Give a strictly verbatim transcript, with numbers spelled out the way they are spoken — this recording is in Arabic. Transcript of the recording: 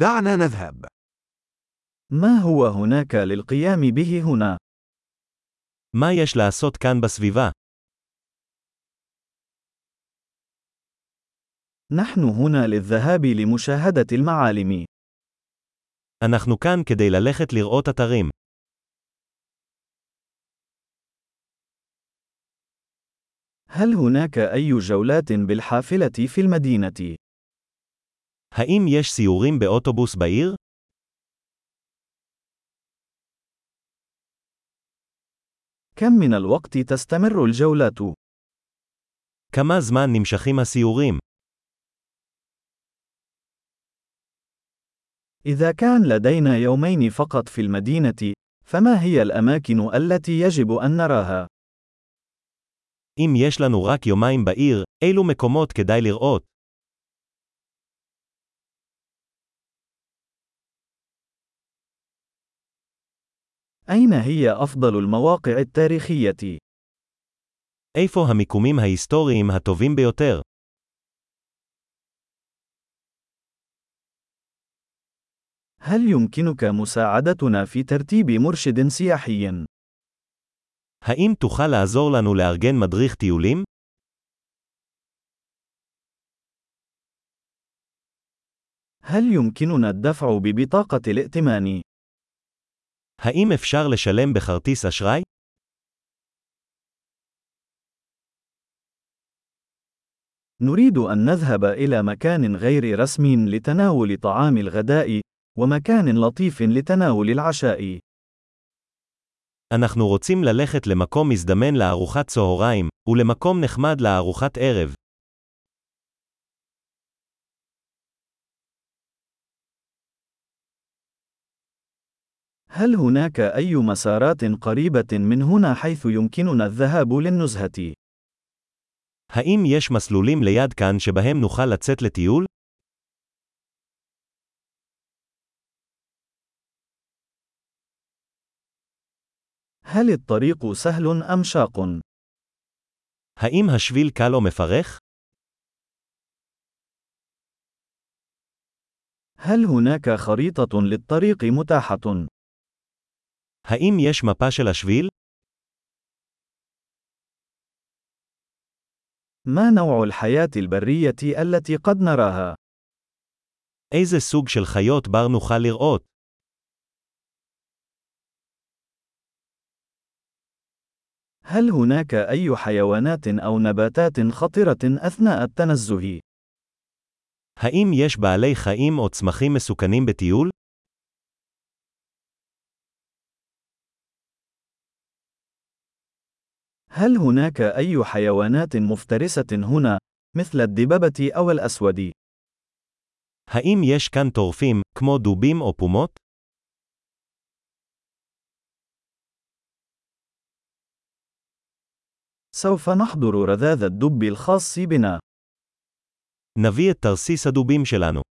دعنا نذهب. ما هو هناك للقيام به هنا؟ מה יש לעשות כאן בסביבה? نحن هنا للذهاب لمشاهدة المعالم. אנחנו כאן כדי ללכת לראות אתרים. هل هناك أي جولات بالحافلة في المدينة؟ האם יש סיורים באוטובוס בעיר? كم من الوقت تستمر الجولات؟ כמה זמן נמשכים הסיורים? إذا كان لدينا يومين فقط في المدينة، فما هي الأماكن التي يجب أن نراها؟ אם יש לנו רק יומיים בעיר, אילו מקומות כדאי לראות? أين هي أفضل المواقع التاريخية؟ איפה המיקומים ההיסטוריים הטובים ביותר? هل يمكنك مساعدتنا في ترتيب مرشد سياحي؟ האם תוכל לעזור לנו לארגן מדריך טיולים? هل يمكننا الدفع ببطاقة الائتمان؟ האם אפשר לשלם בכרטיס אשראי? نريد أن نذهب إلى مكان غير رسمي لتناول طعام الغداء، ومكان لطيف لتناول العشاء. אנחנו רוצים ללכת למקום מזדמן לארוחת צהריים, ולמקום נחמד לארוחת ערב. هل هناك أي مسارات قريبة من هنا حيث يمكننا الذهاب للنزهة؟ האם יש מסלולים ליד כאן שבהם נוכל לצאת לטיול? هل الطريق سهل أم شاق؟ האם השביל קל או מפרך? هل هناك خريطة للطريق متاحة؟ האם יש מפה של השביל? ما نوع الحياة البرية التي قد نراها؟ איזה סוג של חיות בר נוכל לראות? هل هناك أي حيوانات أو نباتات خطرة أثناء التنزه؟ האם יש בעלי חיים או צמחים מסוכנים בטיול? هل هناك أي حيوانات مفترسة هنا، مثل الدببة أو الأسود؟ האם יש כאן טורפים, כמו דובים או פומות? سوف نحضر رذاذ الدب الخاص بنا. נביא את תרסיס הדובים שלנו.